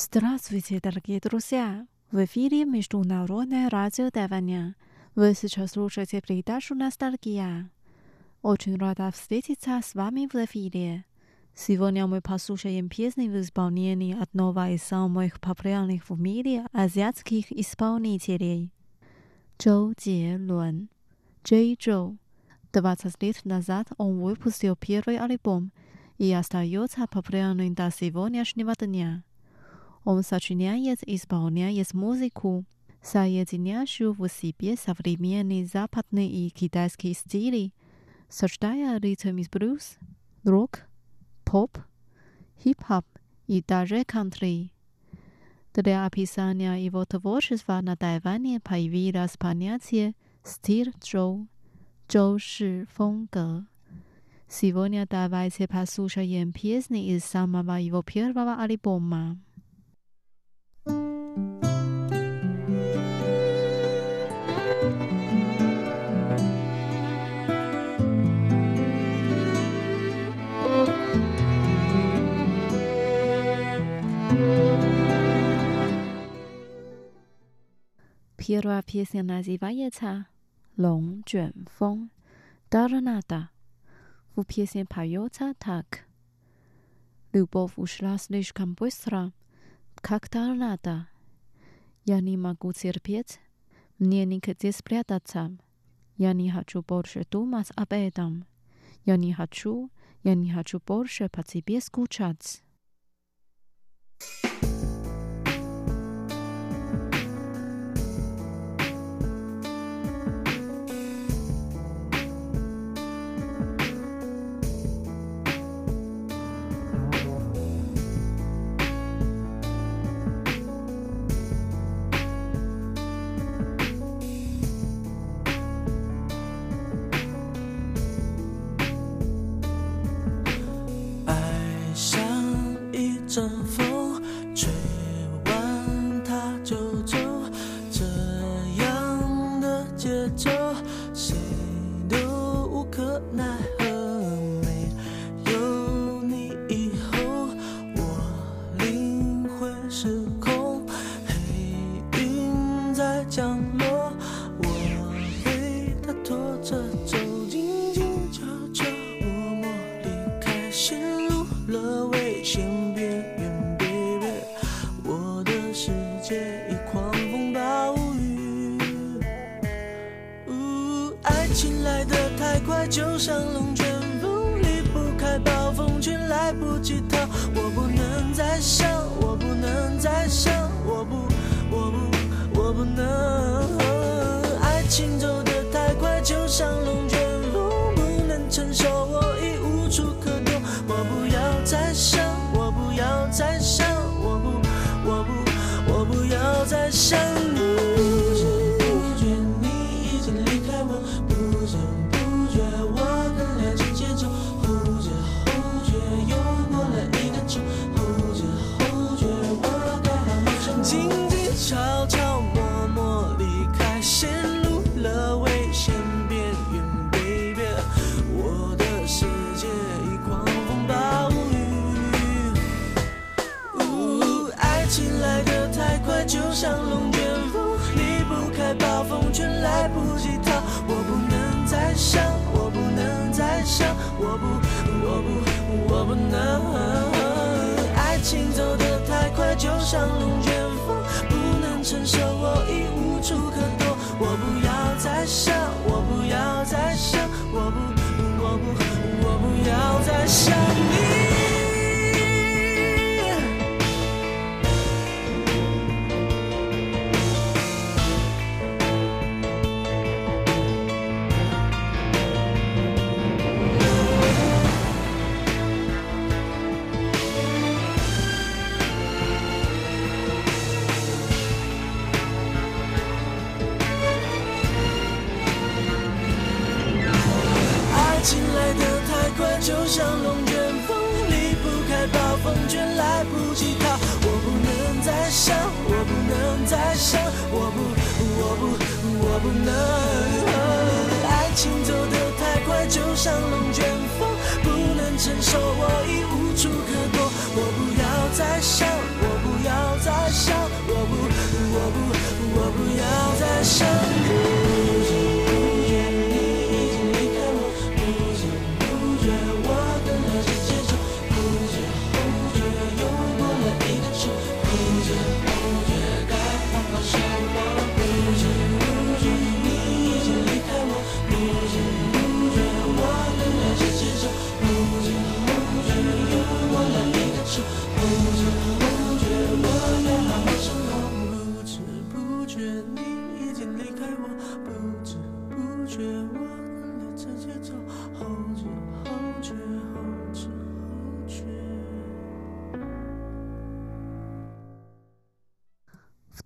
Здравствуйте, дорогие друзья! В эфире Международное радио Тайваня. Вы сейчас слушаете передачу «Ностальгия». Очень рада встретиться с вами в эфире. Сегодня мы послушаем песни в исполнении одного из самых популярных в мире азиатских исполнителей – Чжоу Джелун, Джей Чжоу. 20 лет назад он выпустил первый альбом и остается популярным до сегодняшнего дня. Он сочиняет и исполняет музыку, соединяющую в себе современные западные и китайские стили, сочетая ритм из блюз, рок, поп, хип-хоп и даже кантри. Для описания его творчества на Тайване появилось понятие «стиль Чжоу», «Чжоуши фонгэ». Сегодня давайте послушаем песни из самого его первого альбома. Первая песня называется «Лонг Джуэн Фэн Торнадо». В песне поется так: «Любовь ушла слишком быстро, как торнадо. Я не могу терпеть, мне негде спрятаться. Я не хочу больше думать об этом. Я не хочу больше по тебе скучать». 阵风吹完它就走，这样的节奏谁都无可奈何。没有你以后，我灵魂失控，黑云在降落，我被它拖着走，静静悄悄默默离开，陷入了危险边缘。一狂风暴雨，爱情来得太快，就像龙卷风，离不开暴风圈，来不及逃。我不能再想，我不能再想，我不能。爱情走得太快，就像龙卷风，不能承受，我已无处可躲。我不要再想，我不要再想，我不要再想你。不知不觉你已经离开我，不知不觉我跟爱情牵手，后知后觉又过了1个钟，后知后觉我该好好生活。静静悄悄默默离开，陷入了危险边缘 ，baby， 我的世界已狂风暴雨，爱情来得太快，就像龙卷风，离不开暴风圈，来不及逃。我不能再想，我不能再想，我不能。爱情走得太快，就像龙卷风，不能承受，我已无处可躲。我不要再想，我不要再想，我不要再想你。就像龙卷风，离不开暴风圈，来不及逃。我不能再想，我不能再想，我不能。爱情走得太快，就像龙卷风，不能承受，我已无处可躲。我不要再想，我不要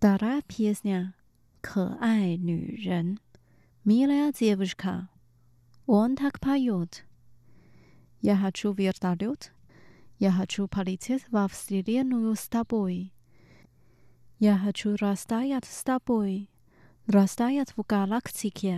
Вторая песня «可爱女人» «Милая девушка». Он так поет. Я хочу вертолет. Я хочу полететь во вселенную с тобой. Я хочу растаять с тобой, растаять в галактике.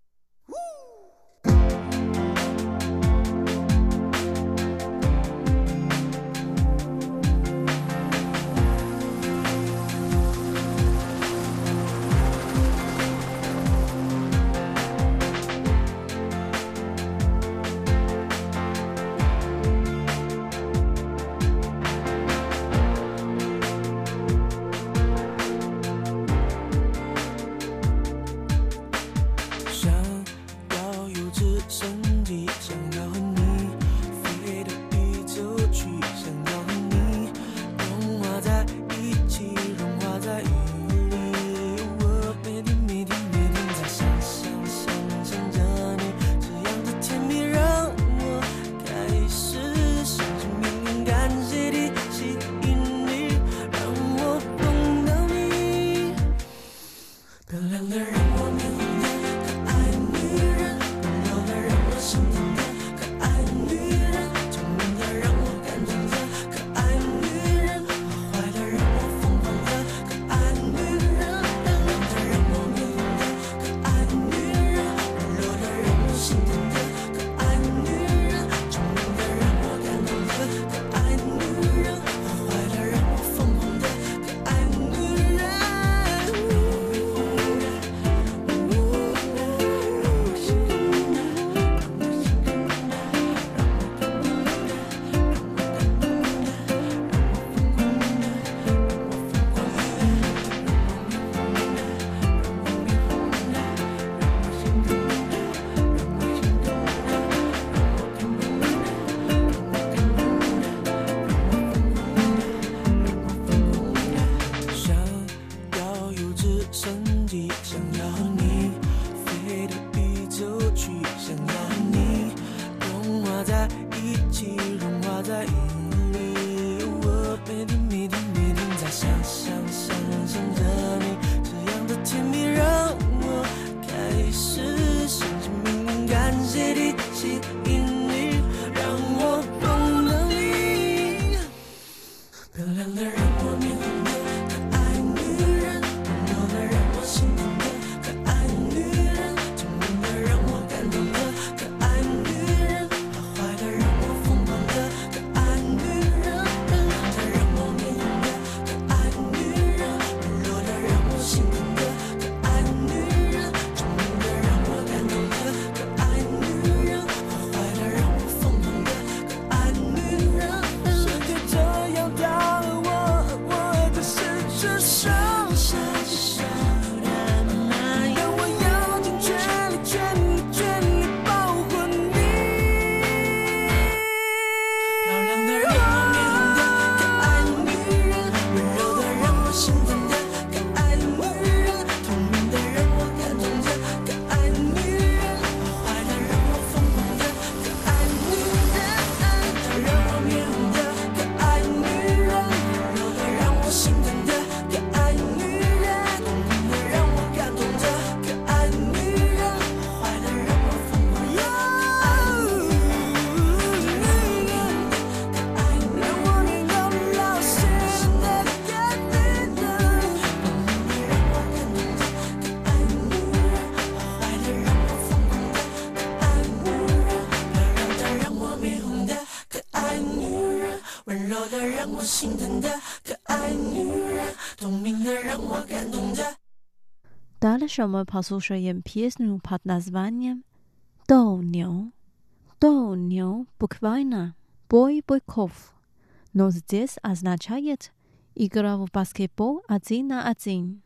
Дальше мы послушаем песню под названием «斗牛». «斗牛» буквально «бой быков», но здесь означает «игра в баскетбол 1 на 1».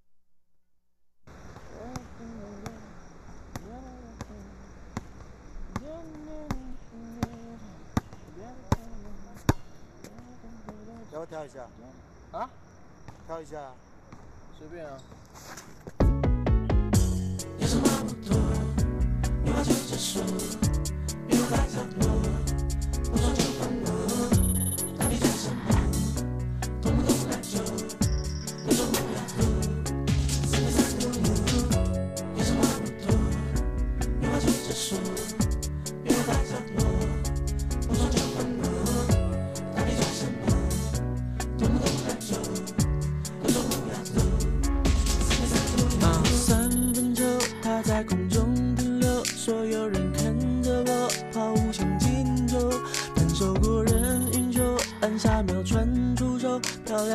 要不跳一下？啊？跳一下？随便啊。有什么不妥？有话就直说，别无法角落，不说就放我。到底讲什么？懂不懂来就，你说不要多。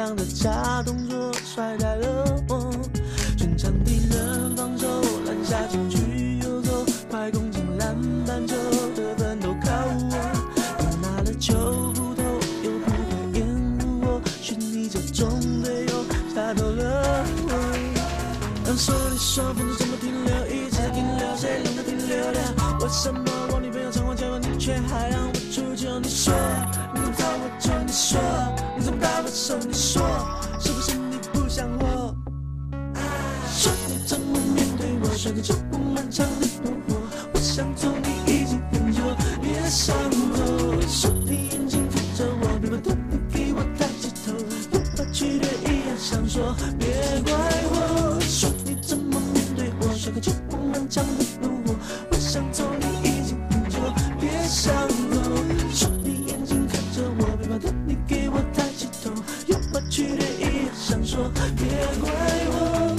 亮的假动作甩开了我，全场敌人防守，篮下禁区游走，快攻进篮板球，得分都靠我。你拿了球不投，又不会掩护我，是你这种队友下头了我。说你说分数怎么停留，一直在停留，谁让它停留了？为什么我女朋友常常叫我，你却还让我出糗？你说你怎么找我就你说，你怎么打我手你说，是不是你不想我？说你怎么面对我，甩个脚步漫长的路，我想走你已经很久，别想我。说你眼睛看着我，别把头你给我抬起头，不把剧烈一样想说，别怪我。说你怎么面对我，甩个脚步漫长的路，我想走你已经很久，别想我。说你眼睛看着我，别把头你给我抬起头，又把剧烈一样想说，别怪我。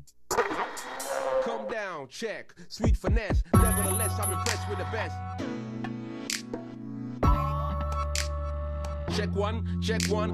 Calm down, check, sweet finesse. Nevertheless, I'm impressed with the best. Check one, check one.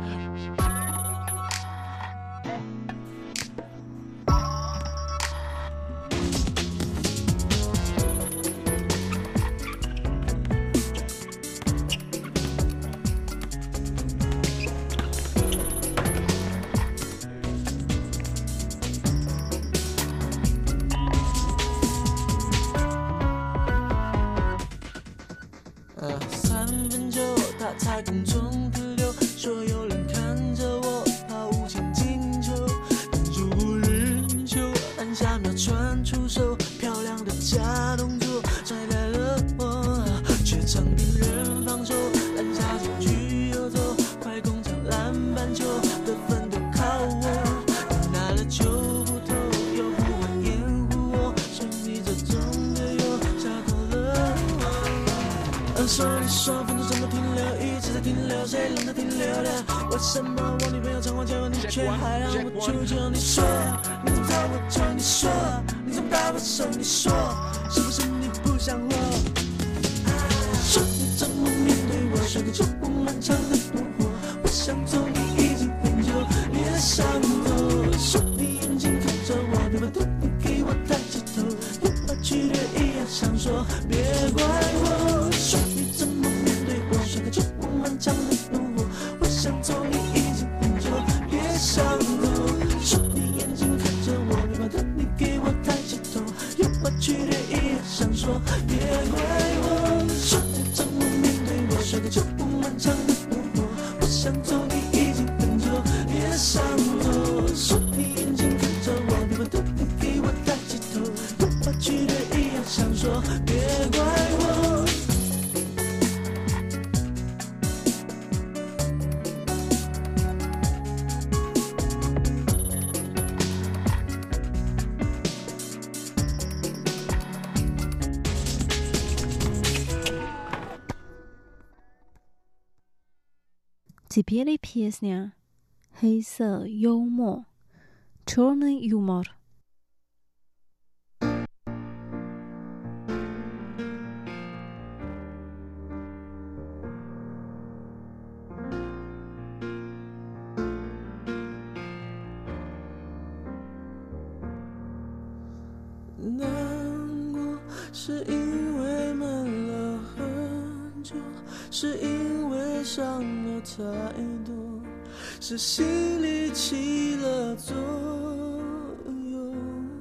3分球，他才空中的流，所有人看着我抛无情进球，但就不忍球，按下秒传出手，漂亮的假动作甩开了我，却场敌人防守，篮下禁区游走，快攻抢篮板球，得分都靠我，你拿了球不投，又不会掩护我，是你这种队友下头了我。说你说分数怎么停留，一直在停留，谁让它停留了？为什么我女朋友常常叫我，你却还让我出糗？你说你怎么找我就你说，你怎么打我手你说，是不是你不想我？说你怎么面对我，甩个球不漫长的路，我想走你已经很久，别想我。说你眼睛看着我，别把头你给我抬起头，又把剧烈一样想说，别怪我。说你怎么面对我，甩个球不漫长的路，我想走你已经很久，别想我。说你眼睛看着我，别把头你给我抬起头，又把剧烈一样想说，别怪我。说你怎么面对我，甩个球不漫长的路，我想走你已经很久，别想我。说你眼睛看着我，别把头你给我抬起头，又把剧烈一样想说，别怪我。 Теперь песня黑色幽默 Черный юмор. 难过是因为闷了很久，是因为伤了太多，是心里起了作用。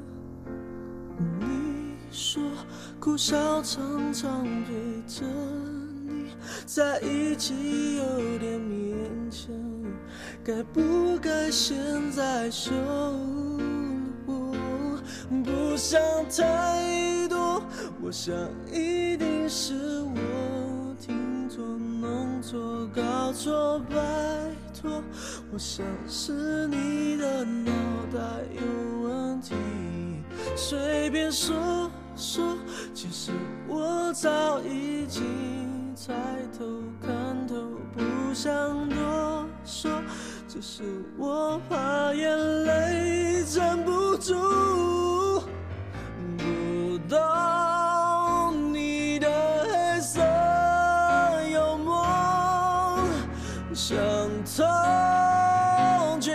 你说哭笑常常陪着你在一起有点勉强，该不该现在收我？不想太多，我想一定是我听错、弄错、搞错，拜托，我想是你的脑袋有问题，随便说说，其实我早已经猜透看透，不想多说，只是我怕眼泪站不住，不懂你的黑色幽默，想通却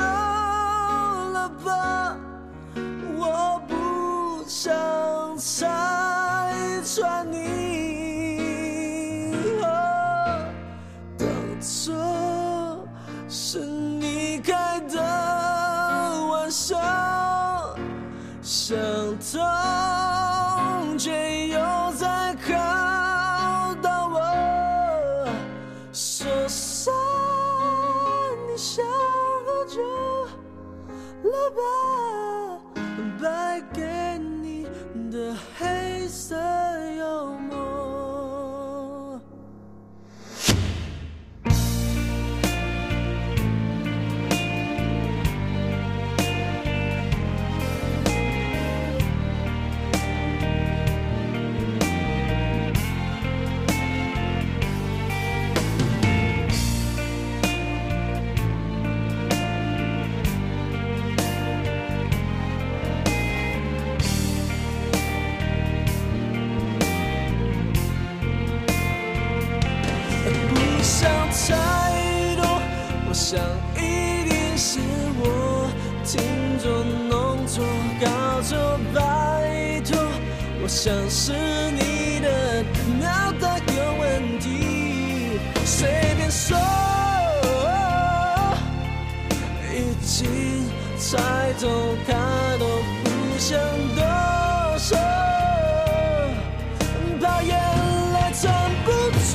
了吧，我不想拆穿你。当初是你开的玩笑，想通却又在考到我，说散你想喝酒了吧，败给你的黑色幽默。太多，我想一定是我听错、弄错、搞错，拜托，我想是你的脑袋有问题，随便说，已经猜透，他都不想多说，怕眼泪撑不住。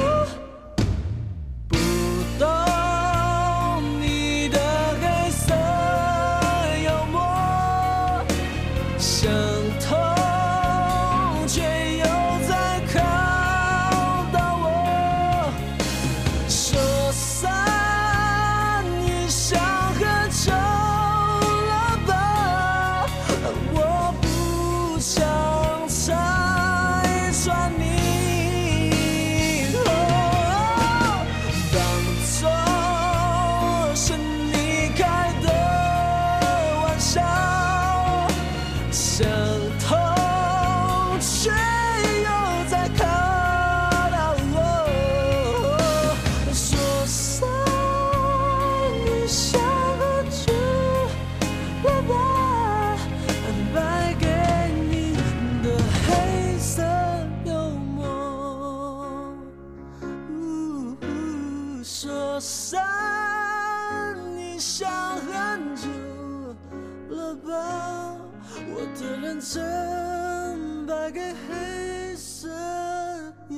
说散你想很久了吧，我的认真败给黑色幽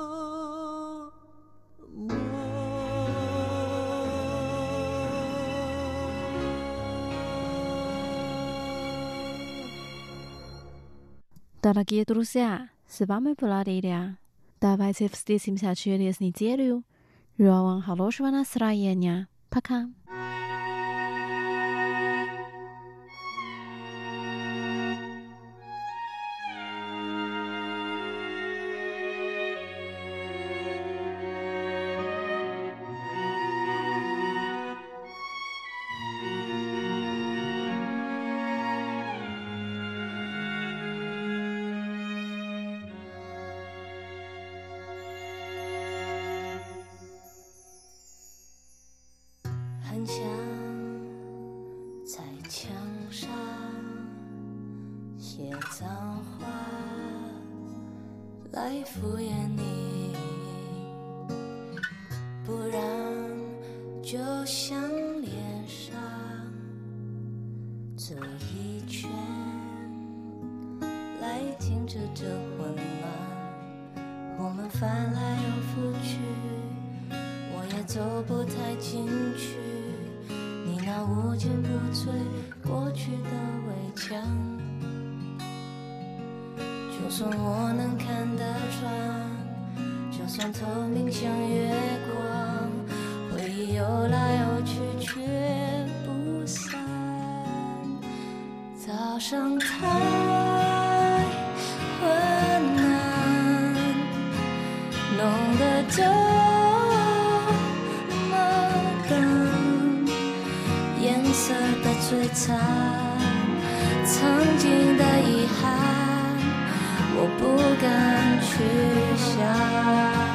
默。 Дорогие друзья, с вами была Лилия. Давайте встретимся через неделю. Желаю вам хорошего настроения. Пока. 很想在墙上写脏话来敷衍你，不然就像脸上这一圈来停止这混乱，我们翻来又覆去，我也走不太进去，你那无坚不摧过去的围墙，就算我能看得穿，就算透明像月光，回忆游来游去却不散，早上太昏暗，弄得这颜色的摧残，曾经的遗憾，我不敢去想。